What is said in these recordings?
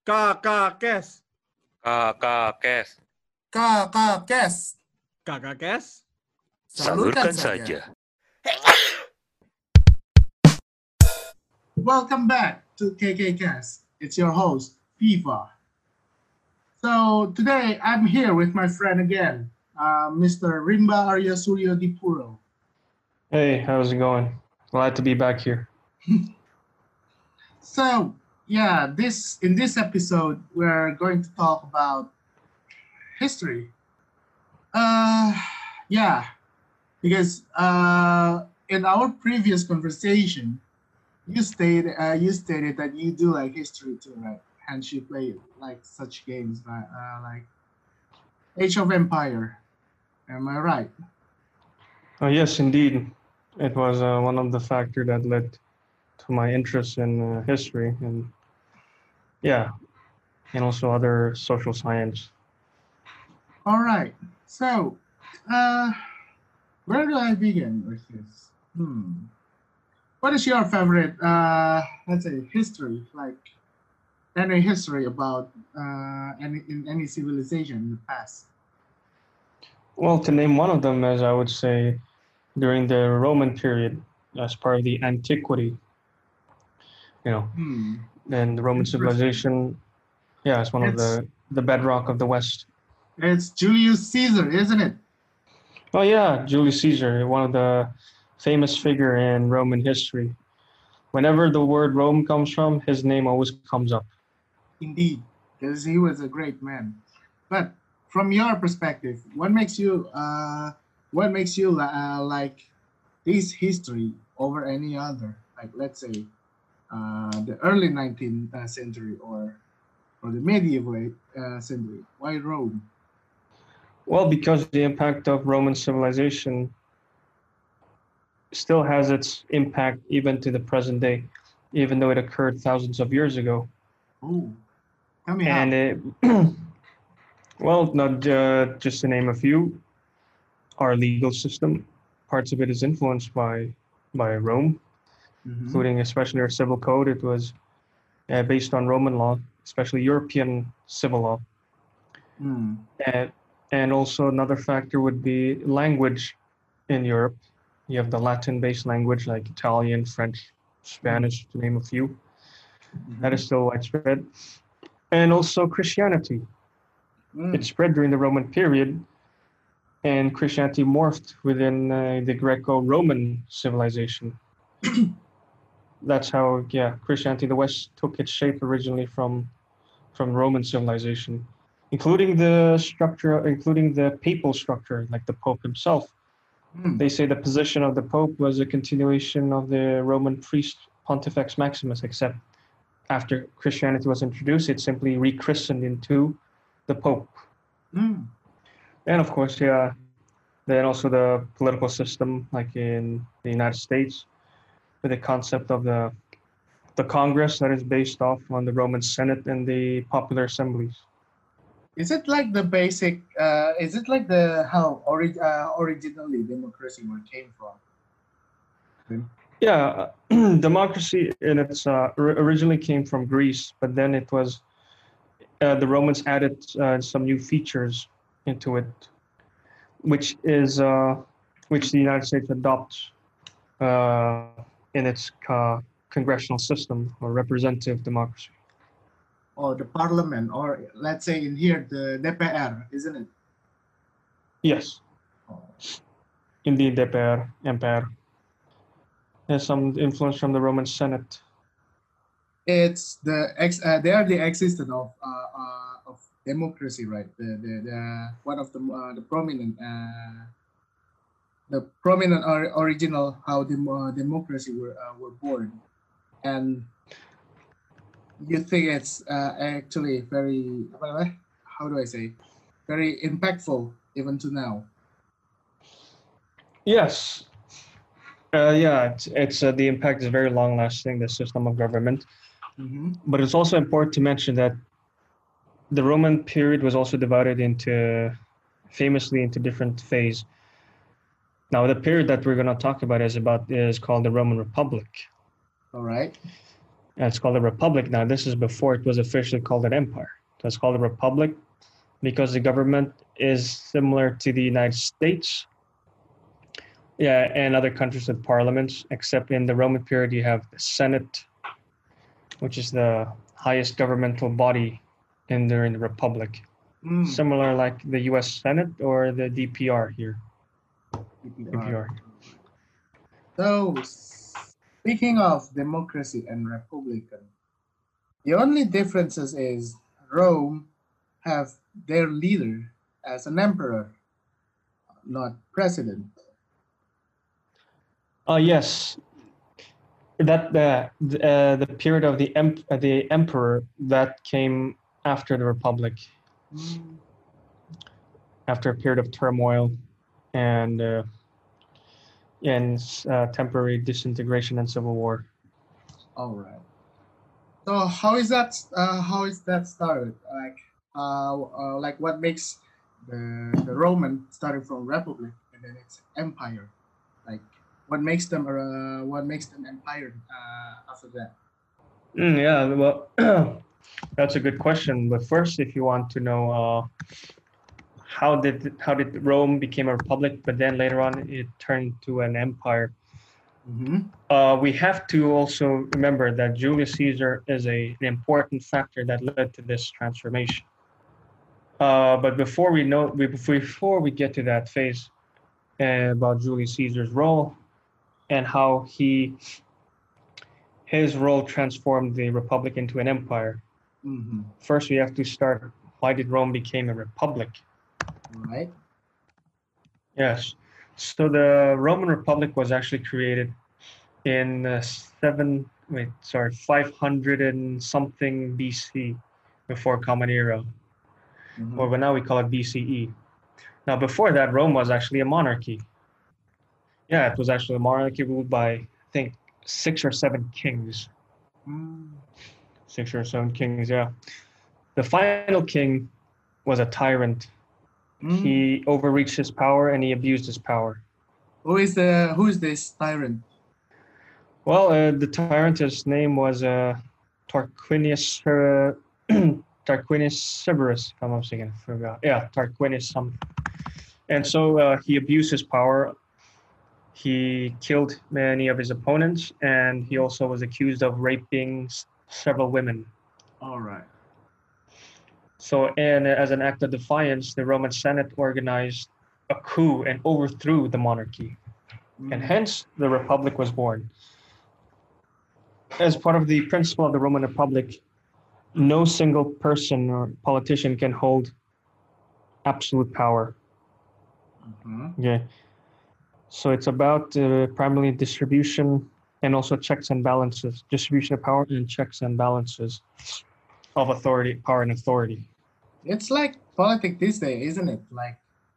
Kakak Kes. Kakak Kes. Kakak Kes. Kakak Kes. Salurkan saja. Welcome back to KKCast. It's your host, FIFA. So today I'm here with my friend again, Mr. Rimba Arya Suryo Dipuro. Hey, how's it going? Glad to be back here. So yeah, in this episode we're going to talk about history. Because in our previous conversation, you stated that you do like history too, right? Hence you play like such games like Age of Empire. Am I right? Yes, indeed. It was one of the factors that led to my interest in history and also other social science. All right. So, where do I begin with this? What is your favorite, let's say, history, like any history about any civilization in the past? Well, to name one of them, as I would say, during the Roman period, as part of the antiquity, and the Roman civilization, it's one of the bedrock of the West. It's Julius Caesar, isn't it? Oh yeah, Julius Caesar, one of the famous figure in Roman history. Whenever the word Rome comes from, his name always comes up. Indeed, because he was a great man. But from your perspective, what makes you like this history over any other? Like, let's say, the early 19th century or the medieval century. Why Rome? Well, because the impact of Roman civilization still has its impact even to the present day, even though it occurred thousands of years ago. Oh, tell me and how. Well, not just to name a few, our legal system, parts of it is influenced by Rome, including especially our civil code. It was based on Roman law, especially European civil law. And also another factor would be language in Europe. You have the Latin-based language like Italian, French, Spanish, to name a few. That is still widespread. And also Christianity. It spread during the Roman period, and Christianity morphed within the Greco-Roman civilization. That's how, Christianity in the West took its shape originally from Roman civilization, including the papal structure, like the Pope himself. They say the position of the Pope was a continuation of the Roman priest Pontifex Maximus, except after Christianity was introduced, it simply rechristened into the Pope. And of course, then also the political system, like in the United States, with the concept of the Congress that is based off on the Roman Senate and the popular assemblies. Is it like the basic? Is it like how originally democracy came from? Yeah, democracy in its originally came from Greece, but then it was the Romans added some new features into it, which the United States adopts in its congressional system or representative democracy. Or the parliament, or let's say in here the DPR, isn't it? Yes. Indeed, DPR, Empire. There's some influence from the Roman Senate. It's they are the existence of democracy, right? The one of the prominent original how democracy were born, and you think it's actually very, how do I say, very impactful even to now? Yes. It's the impact is very long-lasting, the system of government. But it's also important to mention that the Roman period was also divided famously into different phases. Now, the period that we're going to talk about is called the Roman Republic. All right. And it's called a republic now. This is before it was officially called an empire. So it's called a republic because the government is similar to the United States, yeah, and other countries with parliaments, except in the Roman period you have the Senate, which is the highest governmental body during the republic. Mm. Similar like the U.S. Senate or the DPR here. DPR. So, speaking of democracy and republican, the only differences is Rome have their leader as an emperor, not president. Yes, that the period of the emperor that came after the republic, Mm. after a period of turmoil and temporary disintegration and civil war. All right. So how is that? How is that started? Like what makes the Roman starting from republic and then it's empire? Like what makes them empire after that? Yeah, well, that's a good question. But first, if you want to know how did Rome became a republic, but then later on it turned to an empire. Mm-hmm. We have to also remember that Julius Caesar is an important factor that led to this transformation. But before we get to that phase about Julius Caesar's role and how his role transformed the republic into an empire, Mm-hmm. first we have to start, why did Rome become a republic? Right. Yes. So the Roman Republic was actually created in 500 and something BC, before Common Era, Mm-hmm. or now we call it BCE. Now, before that, Rome was actually a monarchy. Yeah, it was actually a monarchy ruled by, I think, 6 or 7 kings. Mm. 6 or 7 kings, yeah. The final king was a tyrant. Mm. He overreached his power and he abused his power. Who is this tyrant? Well, the tyrant, his name was Tarquinius Tarquinius Severus, if I'm not mistaken. I forgot. Yeah, Tarquinius something. And so he abused his power. He killed many of his opponents, and he also was accused of raping several women. All right. So, and as an act of defiance, the Roman Senate organized a coup and overthrew the monarchy. And hence the Republic was born. As part of the principle of the Roman Republic, no single person or politician can hold absolute power. Mm-hmm. Okay. So it's about primarily distribution and also checks and balances, distribution of power and checks and balances of authority, power and authority. It's like politics these days, isn't it? Like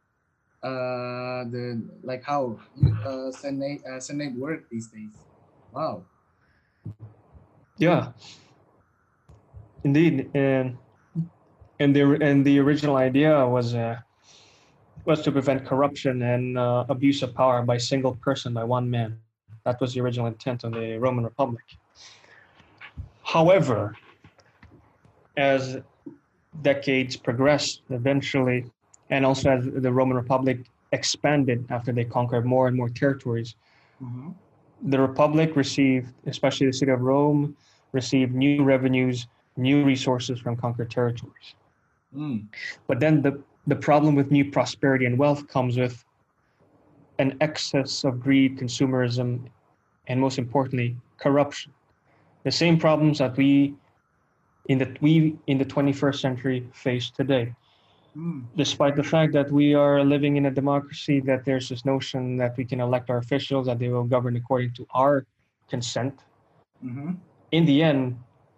how Senate work these days. Wow. Yeah. Indeed, and the original idea was to prevent corruption and abuse of power by a single person, by one man. That was the original intent of the Roman Republic. However, as decades progressed, eventually, and also as the Roman Republic expanded after they conquered more and more territories, Mm-hmm. the Republic received, especially the city of Rome, received new revenues, new resources from conquered territories. Mm. But then the problem with new prosperity and wealth comes with an excess of greed, consumerism, and most importantly, corruption. The same problems that we in the 21st century face today. Mm. Despite the fact that we are living in a democracy, that there's this notion that we can elect our officials, that they will govern according to our consent. Mm-hmm. In the end,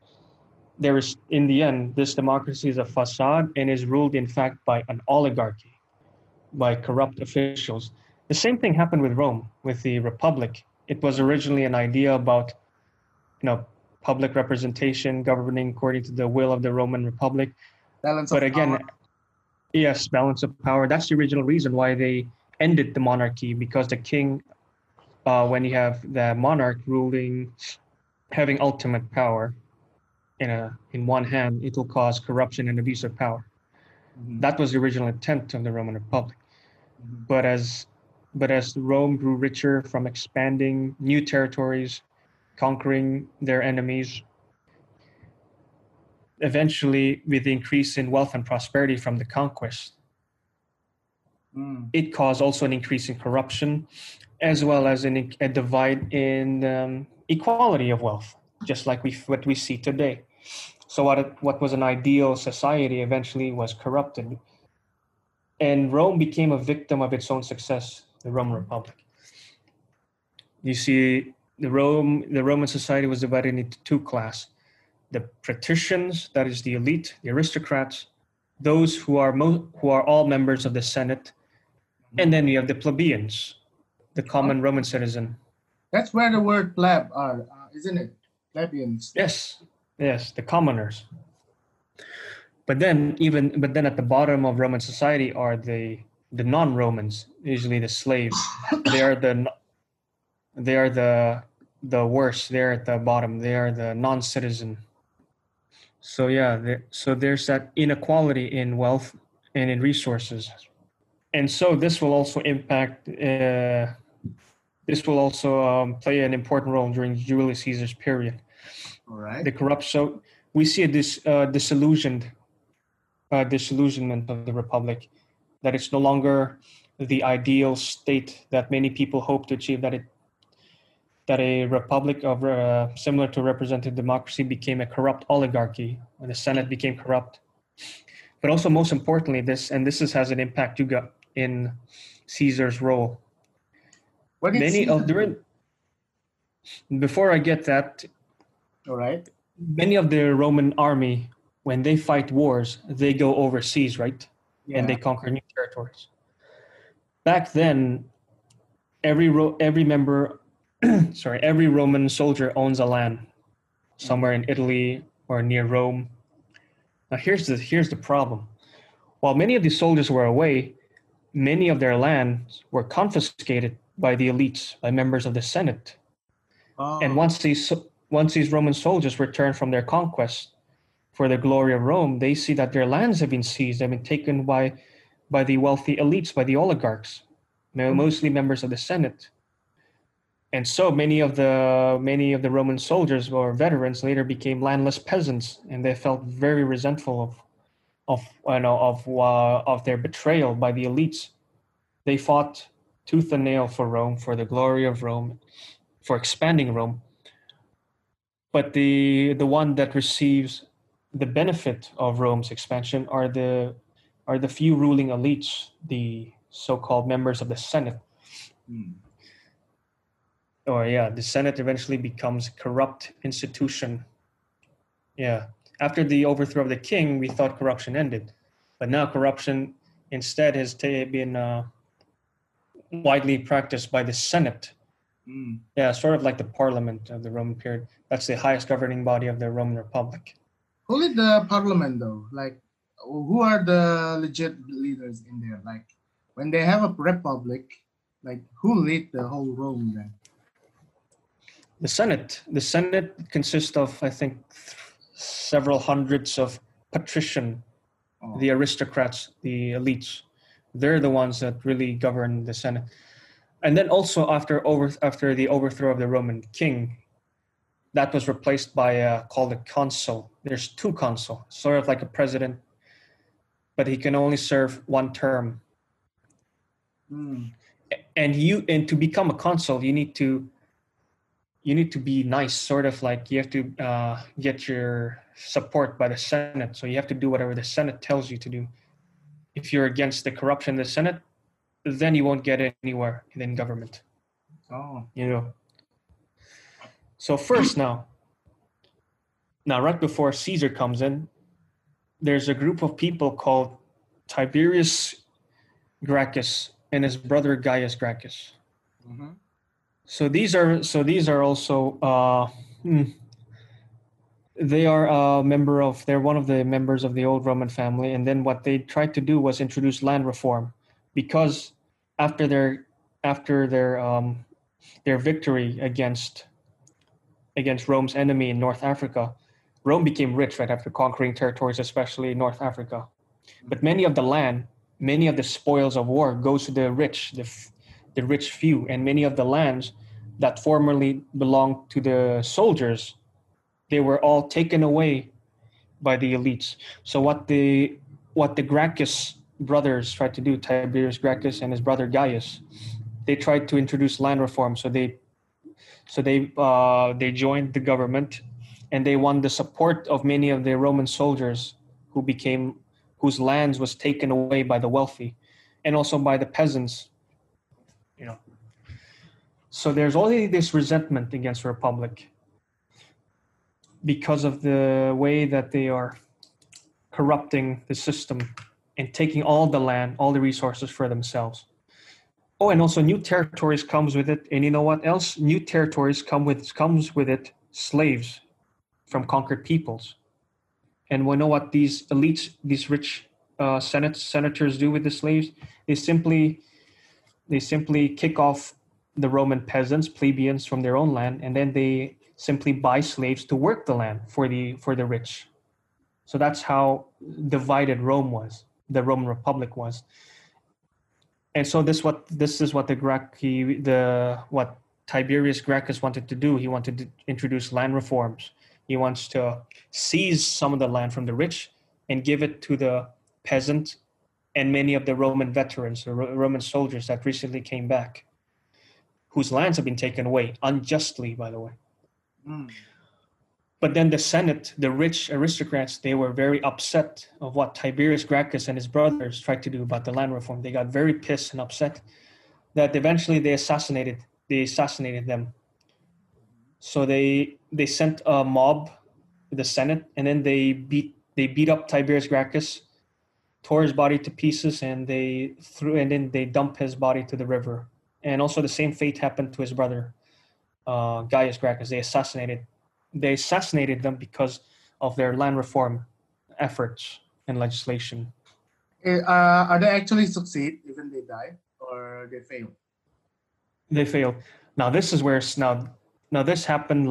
this democracy is a facade and is ruled, in fact, by an oligarchy, by corrupt officials. The same thing happened with Rome, with the Republic. It was originally an idea about, public representation, governing according to the will of the Roman Republic. Balance But of again, power. yes, balance of power. That's the original reason why they ended the monarchy, because the king, when you have the monarch ruling having ultimate power in one hand, it will cause corruption and abuse of power. Mhm. That was the original intent of the Roman Republic. Mhm. But as Rome grew richer from expanding new territories, conquering their enemies, eventually with the increase in wealth and prosperity from the conquest, Mm. it caused also an increase in corruption, as well as a divide in equality of wealth, just like what we see today. So what was an ideal society eventually was corrupted, and Rome became a victim of its own success, the Roman Republic. You see, the Roman society was divided into two classes: the patricians, that is the elite, the aristocrats, those who are all members of the Senate, and then you have the plebeians, the common Roman citizen. That's where the word pleb are, isn't it? Plebeians. Yes, the commoners. But then at the bottom of Roman society are the non-Romans, usually the slaves. They are the worst. They're at the bottom. They are the non-citizen. So yeah, so there's that inequality in wealth and in resources, and so this will also impact. This will also play an important role during Julius Caesar's period. All right. The corruption. So we see a disillusionment of the republic, that it's no longer the ideal state that many people hope to achieve. That a republic similar to representative democracy became a corrupt oligarchy, and the Senate became corrupt. But also, most importantly, this has an impact in Caesar's role. What did Caesar do? Before I get that, All right. many of the Roman army, when they fight wars, they go overseas, right? Yeah. And they conquer new territories. Back then, every Roman soldier owns a land somewhere in Italy or near Rome. Now here's the problem. While many of the soldiers were away, many of their lands were confiscated by the elites, by members of the Senate. Oh. And once these Roman soldiers return from their conquest for the glory of Rome, they see that their lands have been seized, they've been taken by the wealthy elites, by the oligarchs, mostly members of the Senate. And so many of the Roman soldiers or veterans later became landless peasants, and they felt very resentful of their betrayal by the elites. They fought tooth and nail for Rome, for the glory of Rome, for expanding Rome. But the one that receives the benefit of Rome's expansion are the few ruling elites, the so-called members of the Senate. The Senate eventually becomes a corrupt institution. Yeah. After the overthrow of the king, we thought corruption ended. But now corruption instead has been widely practiced by the Senate. Yeah, sort of like the parliament of the Roman period. That's the highest governing body of the Roman Republic. Who lead the parliament though? Like, who are the legit leaders in there? Like, when they have a republic, like, who lead the whole Rome then? The Senate consists of, I think, several hundreds of patrician, the aristocrats, the elites. They're the ones that really govern the Senate. And then also after the overthrow of the Roman king, that was replaced by called a consul. There's two consuls, sort of like a president, but he can only serve one term. And to become a consul, you need to be nice, sort of like you have to get your support by the Senate. So you have to do whatever the Senate tells you to do. If you're against the corruption in the Senate, then you won't get anywhere in government. So first now right before Caesar comes in, there's a group of people called Tiberius Gracchus and his brother Gaius Gracchus. So these are also they're one of the members of the old Roman family. And then what they tried to do was introduce land reform, because after their victory against against Rome's enemy in North Africa, Rome became rich right after conquering territories, especially in North Africa. But many of the land, many of the spoils of war goes to the rich, the rich few, and many of the lands that formerly belonged to the soldiers, they were all taken away by the elites. So what the Gracchus brothers tried to do, Tiberius Gracchus and his brother Gaius, they tried to introduce land reform. So they joined the government, and they won the support of many of the Roman soldiers whose lands was taken away by the wealthy, and also by the peasants. You know. So there's already this resentment against the Republic because of the way that they are corrupting the system and taking all the land, all the resources for themselves. Oh, and also new territories comes with it. And you know what else? New territories comes with it slaves from conquered peoples. And we know what these elites, these rich senators do with the slaves. They simply kick off the Roman peasants, plebeians from their own land, and then they simply buy slaves to work the land for the rich. So that's how divided Rome was, the Roman Republic was. And so this is what what Tiberius Gracchus wanted to do. He wanted to introduce land reforms. He wants to seize some of the land from the rich and give it to the peasant and many of the Roman veterans, the Roman soldiers that recently came back, whose lands have been taken away unjustly, by the way. Mm. But then the Senate, the rich aristocrats, they were very upset of what Tiberius Gracchus and his brothers tried to do about the land reform. They got very pissed and upset that eventually they assassinated them. So they sent a mob to the Senate, and then they beat up Tiberius Gracchus, tore his body to pieces, and then they dumped his body to the river. And also the same fate happened to his brother, Gaius Gracchus. They assassinated them because of their land reform efforts and legislation. Are they actually succeed even they die, or they fail? They failed. Now this is where this happened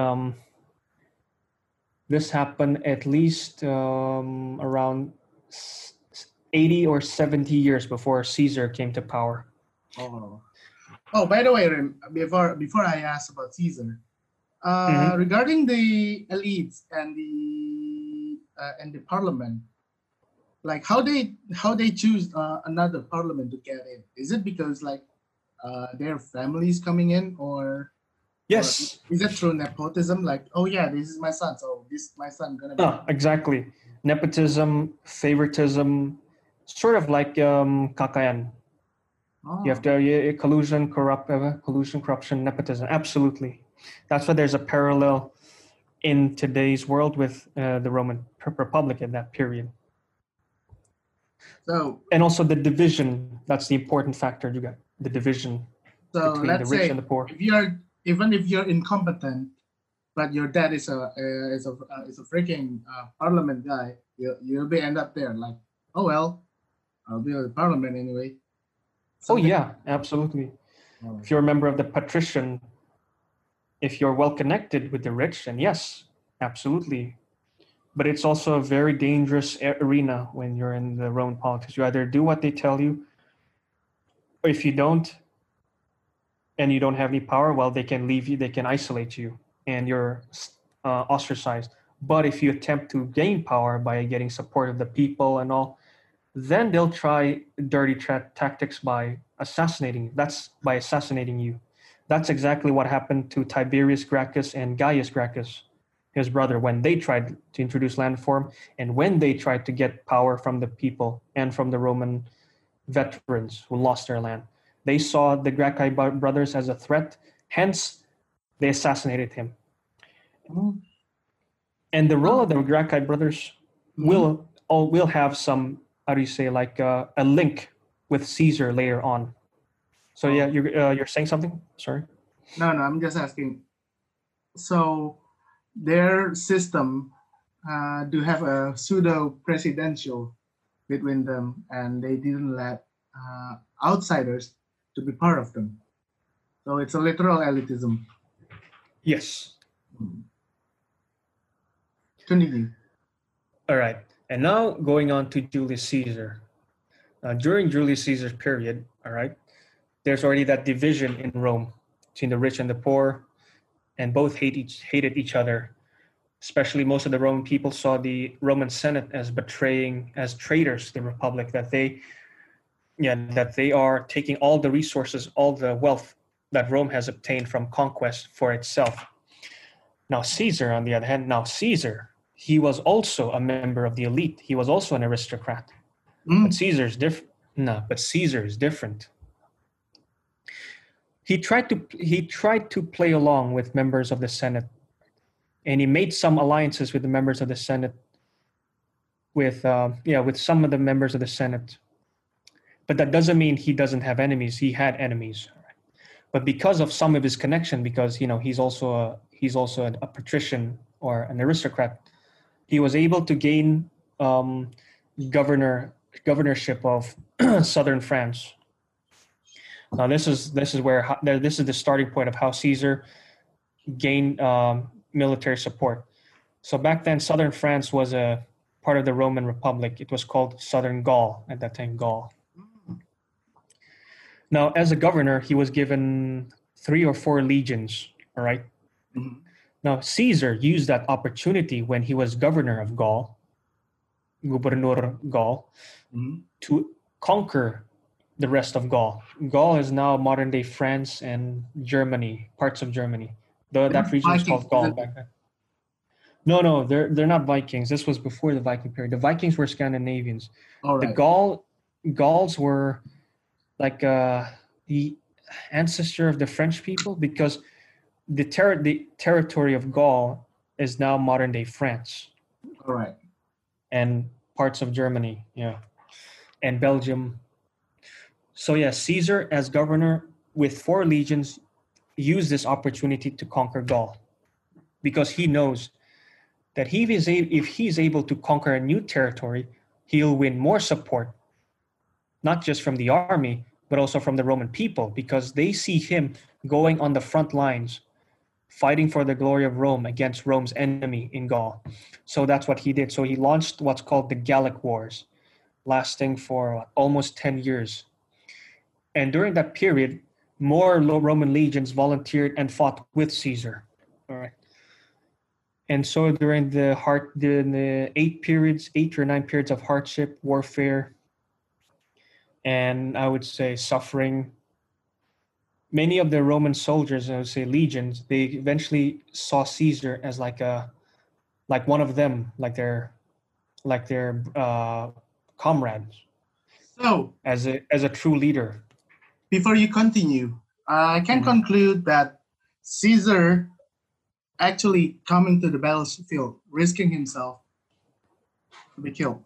this happened at least around 80 or 70 years before Caesar came to power. Oh, by the way, before I ask about Caesar, regarding the elites and the parliament, like how they choose another parliament to get in? Is it because like their families coming in, or yes, or is it through nepotism? Like, oh yeah, this is my son, so my son gonna be. No, exactly. Nepotism, favoritism, sort of like kakayan. Oh. You have to collusion, corruption, nepotism. Absolutely. That's why there's a parallel in today's world with the Roman Republic in that period. So, and also the division. That's the important factor. You got the division between the rich and the poor. Even if you're incompetent, but your dad is a freaking parliament guy, you'll be end up there. Like, oh well, I'll be in the parliament anyway. Oh yeah, absolutely. If you're a member of the patrician, if you're well connected with the rich, then yes, absolutely. But it's also a very dangerous arena when you're in the Roman politics. You either do what they tell you, or if you don't, and you don't have any power, well, they can leave you, they can isolate you, and you're ostracized. But if you attempt to gain power by getting support of the people and all, then they'll try dirty tactics by assassinating you. That's exactly what happened to Tiberius Gracchus and Gaius Gracchus, his brother, when they tried to introduce land reform and when they tried to get power from the people and from the Roman veterans who lost their land. They saw the Gracchi brothers as a threat, hence they assassinated him. Mm-hmm. And the role of the Gracchi brothers will have some, how do you say, like a link with Caesar later on. So yeah, you're saying something? Sorry. No, I'm just asking. So their system do have a pseudo presidential between them, and they didn't let outsiders to be part of them. So it's a literal elitism. Yes. Continue. All right. And now going on to Julius Caesar. During Julius Caesar's period, all right, there's already that division in Rome between the rich and the poor, and both hated each other. Especially most of the Roman people saw the Roman Senate as traitors to the Republic, that they are taking all the resources, all the wealth that Rome has obtained from conquest for itself. Now Caesar, on the other hand, he was also a member of the elite. He was also an aristocrat. But Caesar's different. No, but Caesar is different. He tried to play along with members of the Senate, and he made some alliances with the members of the Senate, with some of the members of the Senate. But that doesn't mean he doesn't have enemies. He had enemies, but because of some of his connection, because he's also a patrician or an aristocrat, he was able to gain governorship of southern France. Now this is the starting point of how Caesar gained military support. So back then, southern France was a part of the Roman Republic. It was called Southern Gaul at that time, Gaul. Now, as a governor, he was given 3 or 4 legions. All right. Now, Caesar used that opportunity when he was governor of Gaul, Gubernur Gaul, to conquer the rest of Gaul. Gaul is now modern-day France and Germany, parts of Germany. That region was called Gaul back then. No, they're not Vikings. This was before the Viking period. The Vikings were Scandinavians. All right. The Gauls were like the ancestor of the French people, because the territory of Gaul is now modern-day France. All right. And parts of Germany, and Belgium. So Caesar, as governor with 4 legions, used this opportunity to conquer Gaul, because he knows that if he's able to conquer a new territory, he'll win more support, not just from the army, but also from the Roman people, because they see him going on the front lines, fighting for the glory of Rome against Rome's enemy in Gaul. So that's what he did. So he launched what's called the Gallic Wars, lasting for almost 10 years. And during that period, more Roman legions volunteered and fought with Caesar. All right. And so during the 8 or 9 periods of hardship, warfare, and I would say suffering, many of the Roman soldiers, I would say legions, they eventually saw Caesar as like one of them, like their comrades. So, as a true leader. before you continue, I can conclude that Caesar actually coming to the battlefield, risking himself to be killed.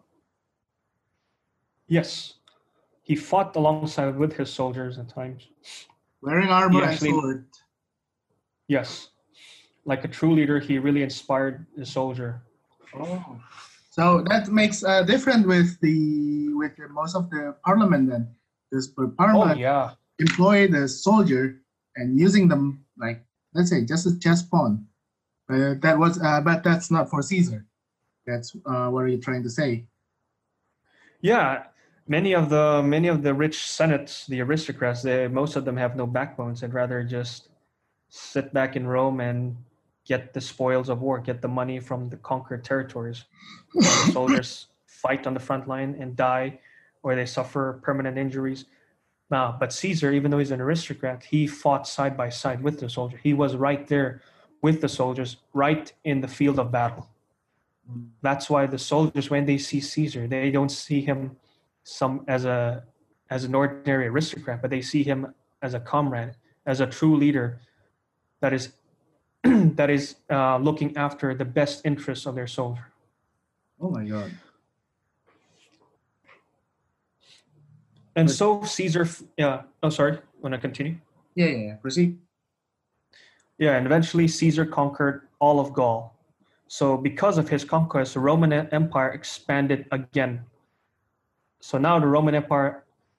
Yes, he fought alongside with his soldiers at times. Wearing armor and actually- sword. Yes, like a true leader, he really inspired the soldier. Oh. So that makes a difference with most of the parliament then. Because parliament employ the soldier and using them like, let's say, just a chess pawn. But that's not for Caesar. That's what you're trying to say. Yeah, many of the rich senates, the aristocrats, most of them have no backbones. They'd rather just sit back in Rome and get the spoils of war, get the money from the conquered territories. The soldiers fight on the front line and die, or they suffer permanent injuries. But Caesar, even though he's an aristocrat, he fought side by side with the soldier. He was right there with the soldiers, right in the field of battle. That's why the soldiers, when they see Caesar, they don't see him as an ordinary aristocrat, but they see him as a comrade, as a true leader that is looking after the best interests of their soldier. Oh my God. And so Caesar, sorry, want to continue? Yeah. Proceed. Yeah, and eventually Caesar conquered all of Gaul. So because of his conquest, the Roman Empire expanded again. So now the Roman Empire,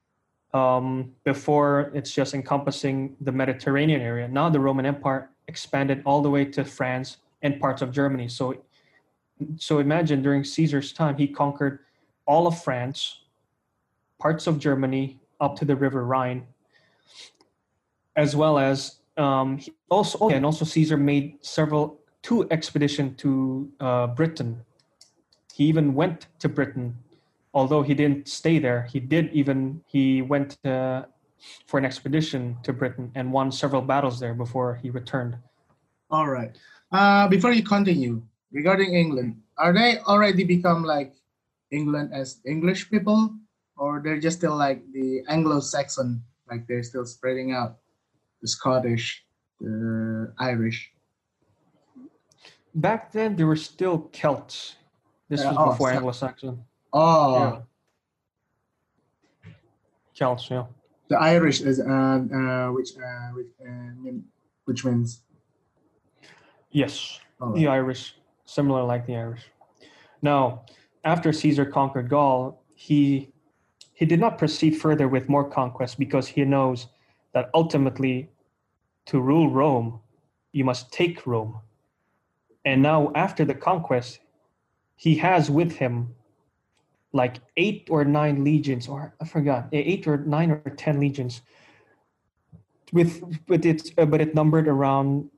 before it's just encompassing the Mediterranean area, now the Roman Empire expanded all the way to France, and parts of Germany. So imagine during Caesar's time, he conquered all of France, parts of Germany up to the River Rhine, as well as also Caesar made two expeditions to Britain. He even went to Britain, although he didn't stay there. He went for an expedition to Britain and won several battles there before he returned. All right. Before you continue, regarding England, are they already become like England as English people, or they're just still like the Anglo-Saxon, like they're still spreading out, the Scottish, the Irish? Back then, there were still Celts. This was before Anglo-Saxon. Oh, Yeah. Celts, yeah. the Irish is which means Yes, All the Irish, similar like the Irish. Now, after Caesar conquered Gaul, he did not proceed further with more conquests because he knows that ultimately, to rule Rome, you must take Rome. And now, after the conquest, he has with him like 8 or 9 legions, or I forgot, 8 or 9 or 10 legions. But it numbered around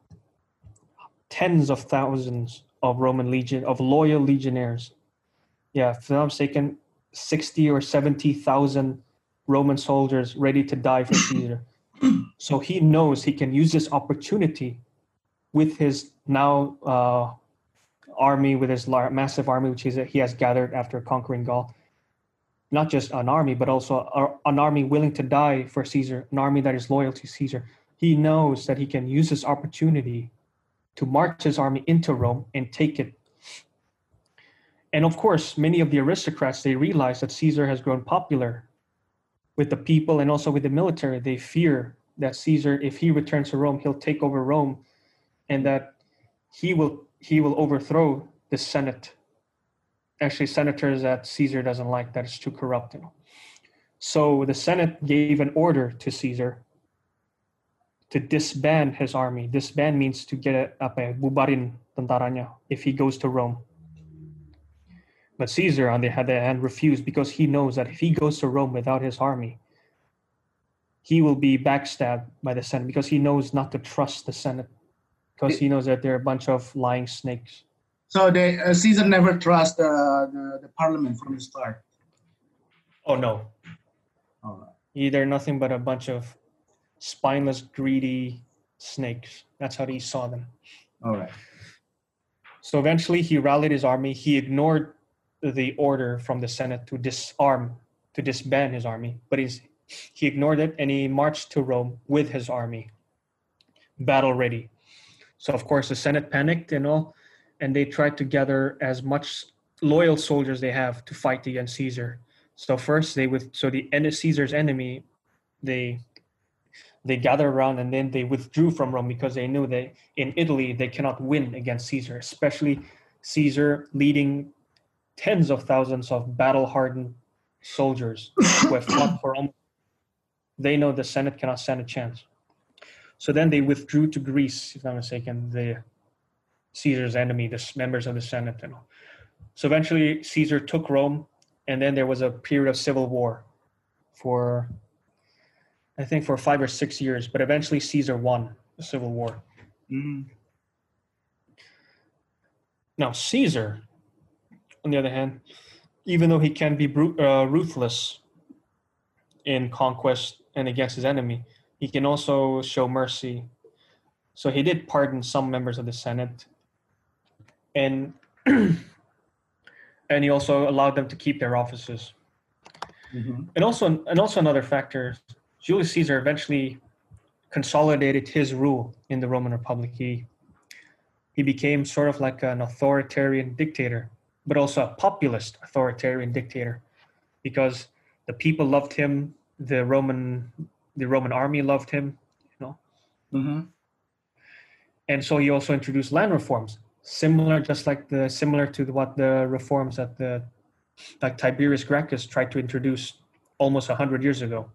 tens of thousands of loyal legionnaires. Yeah, if I'm not mistaken, 60 or 70,000 Roman soldiers ready to die for Caesar. So he knows he can use this opportunity with his now army, with his massive army, which he has gathered after conquering Gaul. Not just an army, but also an army willing to die for Caesar, an army that is loyal to Caesar. He knows that he can use this opportunity to march his army into Rome and take it. And of course, many of the aristocrats, they realize that Caesar has grown popular with the people and also with the military. They fear that Caesar, if he returns to Rome, he'll take over Rome, and that he will overthrow the Senate. Actually, senators that Caesar doesn't like, that is too corrupt. So the Senate gave an order to Caesar to disband his army. Disband means to get bubarin tentaranya if he goes to Rome. But Caesar, on the other hand, refused because he knows that if he goes to Rome without his army, he will be backstabbed by the Senate, because he knows not to trust the Senate, because he knows that they're a bunch of lying snakes. So Caesar never trusts the parliament from the start. Oh no. All They're nothing but a bunch of spineless, greedy snakes. That's how he saw them. right. So eventually he rallied his army. He ignored the order from the Senate to disband his army, but he ignored it, and he marched to Rome with his army, battle ready. So of course the Senate panicked and they tried to gather as much loyal soldiers they have to fight against Caesar. So first Caesar's enemy, they gathered around, and then they withdrew from Rome because they knew that in Italy they cannot win against Caesar, especially Caesar leading tens of thousands of battle-hardened soldiers who have fought for almost. They know the Senate cannot stand a chance. So then they withdrew to Greece, if I'm not mistaken, the Caesar's enemy, the members of the Senate. So eventually Caesar took Rome, and then there was a period of civil war for 5 or 6 years, but eventually Caesar won the civil war. Now Caesar, on the other hand, even though he can be ruthless in conquest and against his enemy, he can also show mercy. So he did pardon some members of the Senate, and he also allowed them to keep their offices. And also another factor, Julius Caesar eventually consolidated his rule in the Roman Republic. He became sort of like an authoritarian dictator, but also a populist authoritarian dictator, because the people loved him, the Roman army loved him, And so he also introduced land reforms, similar to what the reforms that like Tiberius Gracchus tried to introduce almost 100 years ago.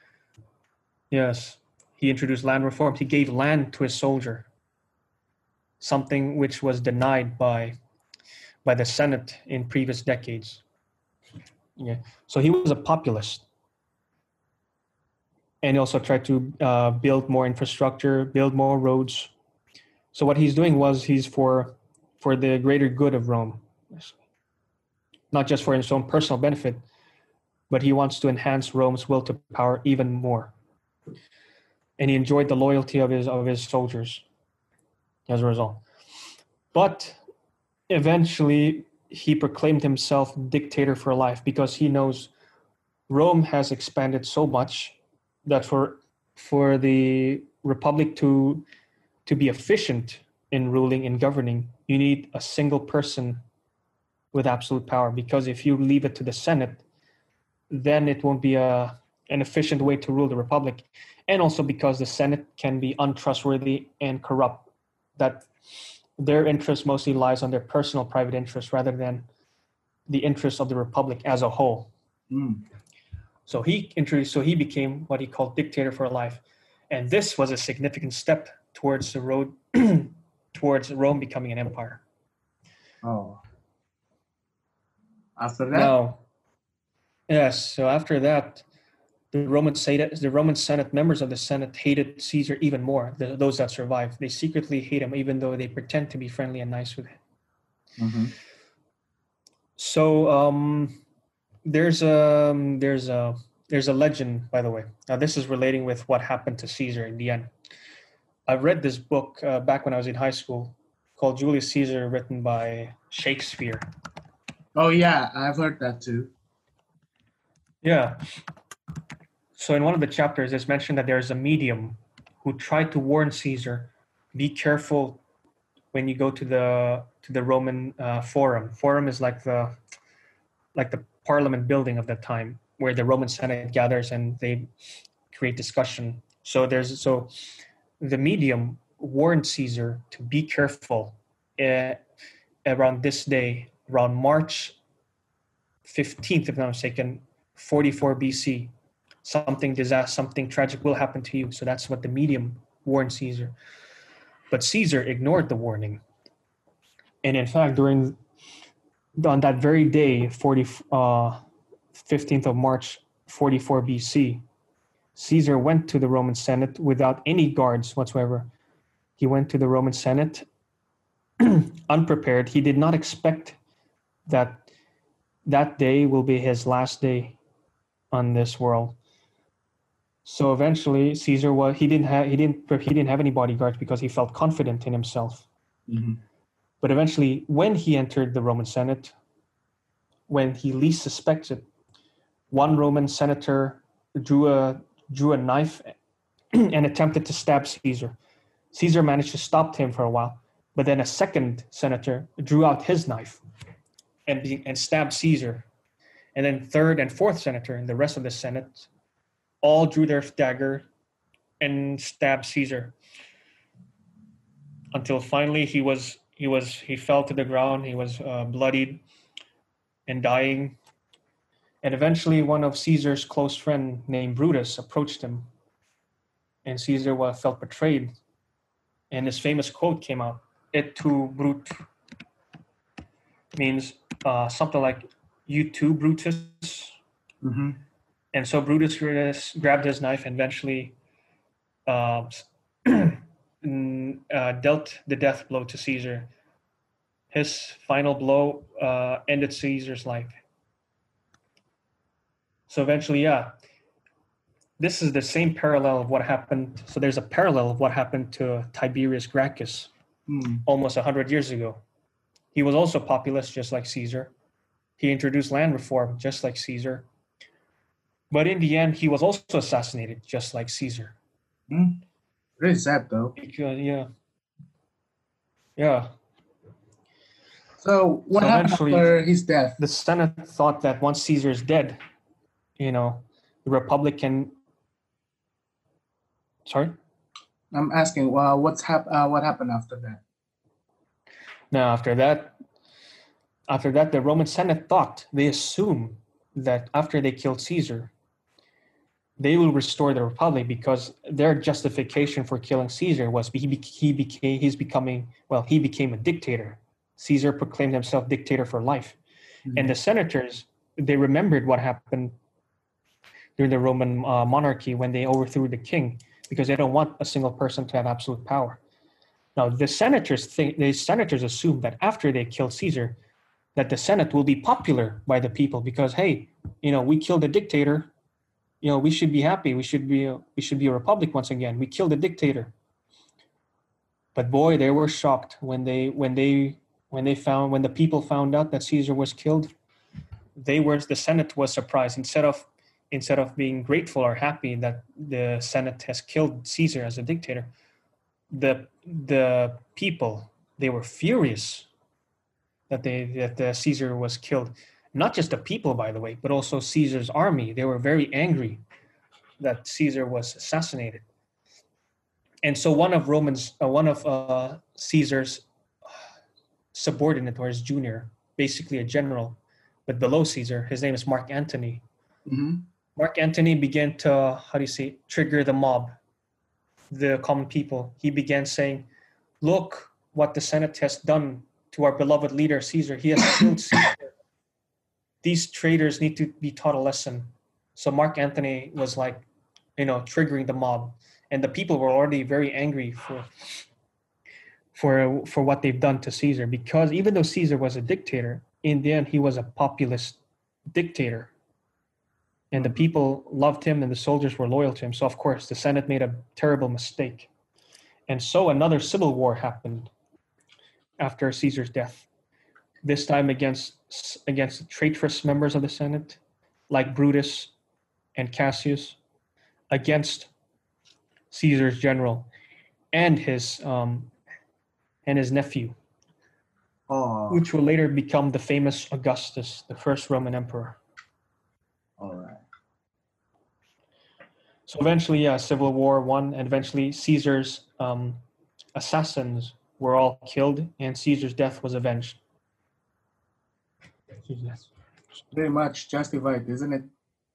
Yes, he introduced land reforms. He gave land to his soldier. something which was denied by the Senate in previous decades. Yeah. So he was a populist. And he also tried to build more infrastructure, build more roads. So what he's doing was he's for the greater good of Rome, not just for his own personal benefit, but he wants to enhance Rome's will to power even more. And he enjoyed the loyalty of his soldiers as a result. But eventually, he proclaimed himself dictator for life because he knows Rome has expanded so much that for the republic to be efficient in ruling and governing, you need a single person with absolute power. Because if you leave it to the Senate, then it won't be an efficient way to rule the republic. And also because the Senate can be untrustworthy and corrupt, that their interest mostly lies on their personal private interest rather than the interest of the republic as a whole. Mm. So he became what he called dictator for life. And this was a significant step towards the road towards Rome becoming an empire. Oh. After that? Now, yes, so after that, the Roman Senate, members of the Senate hated Caesar even more, those that survived. They secretly hate him even though they pretend to be friendly and nice with him. Mm-hmm. So there's a legend, by the way. Now this is relating with what happened to Caesar in the end. I read this book back when I was in high school called Julius Caesar, written by Shakespeare. Oh yeah, I've heard that too. Yeah. So in one of the chapters, it's mentioned that there's a medium who tried to warn Caesar, be careful when you go to the Roman Forum. Forum is like the parliament building of that time, where the Roman Senate gathers and they create discussion. So the medium warned Caesar to be careful around this day, around March 15th, if I'm not mistaken, 44 BC. Something tragic will happen to you. So that's what the medium warned Caesar. But Caesar ignored the warning. And in fact, on that very day, 15th of March, 44 BC, Caesar went to the Roman Senate without any guards whatsoever. He went to the Roman Senate unprepared. He did not expect that day will be his last day on this world. So eventually, Caesar he didn't have any bodyguards because he felt confident in himself. Mm-hmm. But eventually, when he entered the Roman Senate, when he least suspected, one Roman senator drew a knife and attempted to stab Caesar. Caesar managed to stop him for a while, but then a second senator drew out his knife and stabbed Caesar. And then third and fourth senator and the rest of the Senate all drew their dagger and stabbed Caesar until finally he fell to the ground. He was bloodied and dying. And eventually one of Caesar's close friend named Brutus approached him, and Caesar felt betrayed. And his famous quote came out, "Et tu, Brute," means something like, "You too, Brutus." Mm-hmm. And so Brutus grabbed his knife and eventually dealt the death blow to Caesar. His final blow ended Caesar's life. So eventually, this is the same parallel of what happened. So there's a parallel of what happened to Tiberius Gracchus almost 100 years ago. He was also populist, just like Caesar. He introduced land reform, just like Caesar. But in the end, he was also assassinated, just like Caesar. Very sad, though. Because, yeah. So what happened after his death? The Senate thought that once Caesar is dead, the Republic can. Sorry? I'm asking, what happened after that? Now, after that, the Roman Senate they assumed that after they killed Caesar, they will restore the republic because their justification for killing Caesar was he became a dictator. Caesar proclaimed himself dictator for life. And the senators, they remembered what happened during the Roman monarchy when they overthrew the king, because they don't want a single person to have absolute power. Now, the senators assume that after they kill Caesar, that the Senate will be popular by the people because, hey, we killed a dictator. We should be happy. We should be a republic once again. We killed a dictator. But boy, they were shocked when the people found out that Caesar was killed. The Senate was surprised. Instead of being grateful or happy that the Senate has killed Caesar as a dictator, the people, they were furious that Caesar was killed. Not just the people, by the way, but also Caesar's army. They were very angry that Caesar was assassinated. And so one of Caesar's subordinate, or his junior, basically a general, but below Caesar, his name is Mark Antony. Mm-hmm. Mark Antony began to, trigger the mob, the common people. He began saying, look what the Senate has done to our beloved leader, Caesar. He has killed Caesar. These traitors need to be taught a lesson. So Mark Antony was triggering the mob. And the people were already very angry for what they've done to Caesar, because even though Caesar was a dictator, in the end, he was a populist dictator. And the people loved him and the soldiers were loyal to him. So, of course, the Senate made a terrible mistake. And so another civil war happened after Caesar's death, this time against traitorous members of the Senate, like Brutus and Cassius, against Caesar's general and his nephew, which will later become the famous Augustus, the first Roman emperor. All right. So eventually, civil war won, and eventually Caesar's assassins were all killed, and Caesar's death was avenged. Very much justified, isn't it?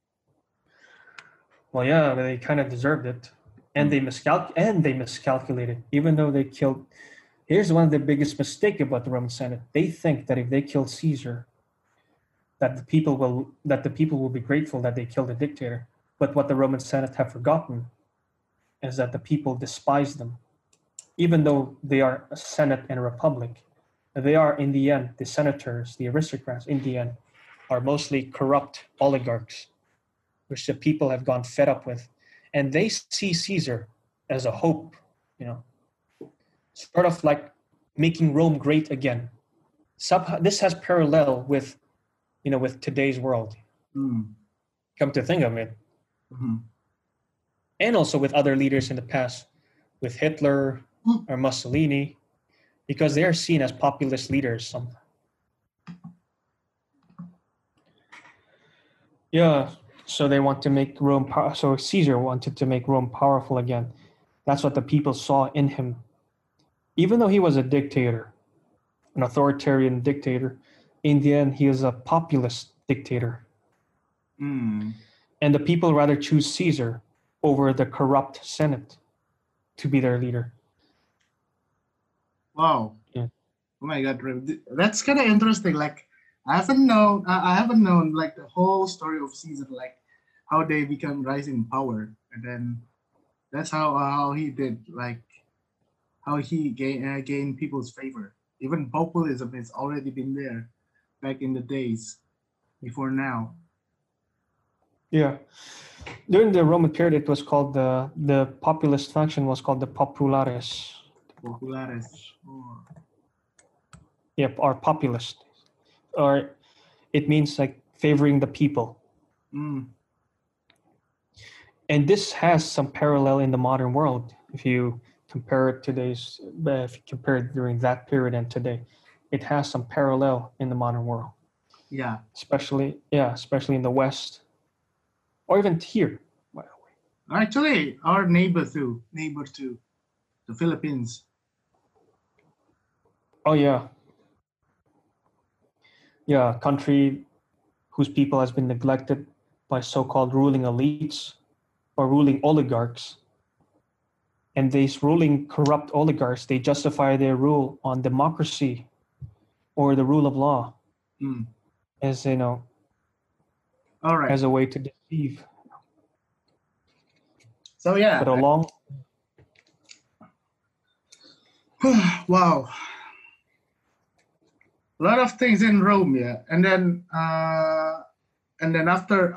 Well, yeah, they kind of deserved it, and they miscalculated. Even though they killed, here's one of the biggest mistake about the Roman Senate. They think that if they kill Caesar, that the people will be grateful that they killed a dictator. But what the Roman Senate have forgotten is that the people despise them. Even though they are a Senate and a republic, they are, in the end, the senators, the aristocrats, in the end, are mostly corrupt oligarchs, which the people have gone fed up with. And they see Caesar as a hope, sort of like making Rome great again. This has parallel with today's world. Come to think of it. Mm-hmm. And also with other leaders in the past, with Hitler or Mussolini, because they are seen as populist leaders. Yeah, so they want to make Rome so Caesar wanted to make Rome powerful again. That's what the people saw in him. Even though he was a dictator, an authoritarian dictator, in the end, he is a populist dictator. And the people rather choose Caesar over the corrupt Senate to be their leader. Wow. Yeah. Oh my God, that's kind of interesting. Like, I haven't known like the whole story of Caesar, like how they become rising in power, and then that's how he did, like how he gained people's favor. Even populism has already been there back in the days before now. Yeah, during the Roman period, it was called the populist faction was called the populares. Populares. Oh. Yep, or populist, or it means like favoring the people. And this has some parallel in the modern world. If you compare it during that period and today, it has some parallel in the modern world. Yeah. Especially in the West, or even here, by the way. Actually, our neighbor too, the Philippines. Oh yeah. Yeah, a country whose people has been neglected by so-called ruling elites, or ruling oligarchs. And these ruling corrupt oligarchs, they justify their rule on democracy or the rule of law Mm. as, All right. as a way to deceive. So yeah. But along, Wow. A lot of things in Rome, yeah. And then after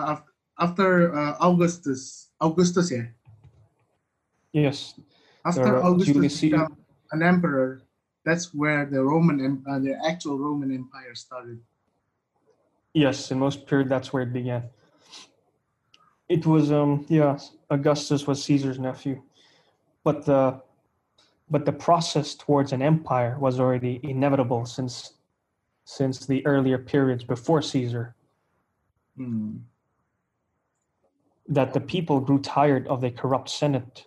Augustus, yeah. yes, After There are Augustus Julius Caesar. became an emperor, that's where the actual Roman Empire started. yes, in most period, that's where it began. It was, Augustus was Caesar's nephew. But the process towards an empire was already inevitable since the earlier periods before Caesar. Hmm. That the people grew tired of the corrupt Senate.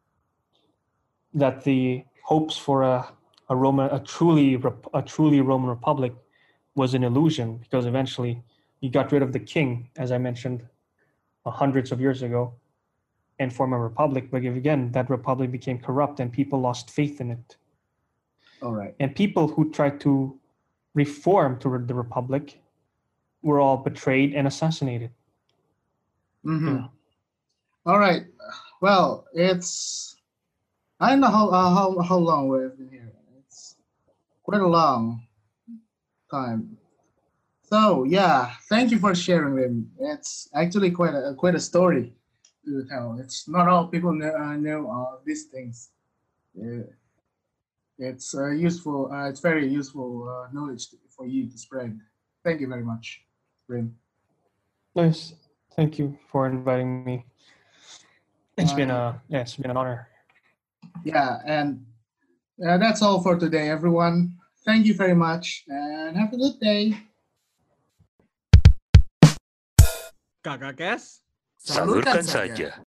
That the hopes for a truly Roman Republic was an illusion, because eventually you got rid of the king, as I mentioned, hundreds of years ago, and form a republic. But again, that republic became corrupt and people lost faith in it. All right. And people who tried to reform to the republic were all betrayed and assassinated. Mm-hmm. Yeah. All right. Well, I don't know how long we've been here. It's quite a long time. So yeah, thank you for sharing them. It's actually quite a story to tell. It's not all people know these things. It's useful. It's very useful knowledge for you to spread. Thank you very much, Rim. Nice. Thank you for inviting me. It's been an honor. Yeah, and that's all for today, everyone. Thank you very much, and have a good day. Kakak Kes. Salurkan saja.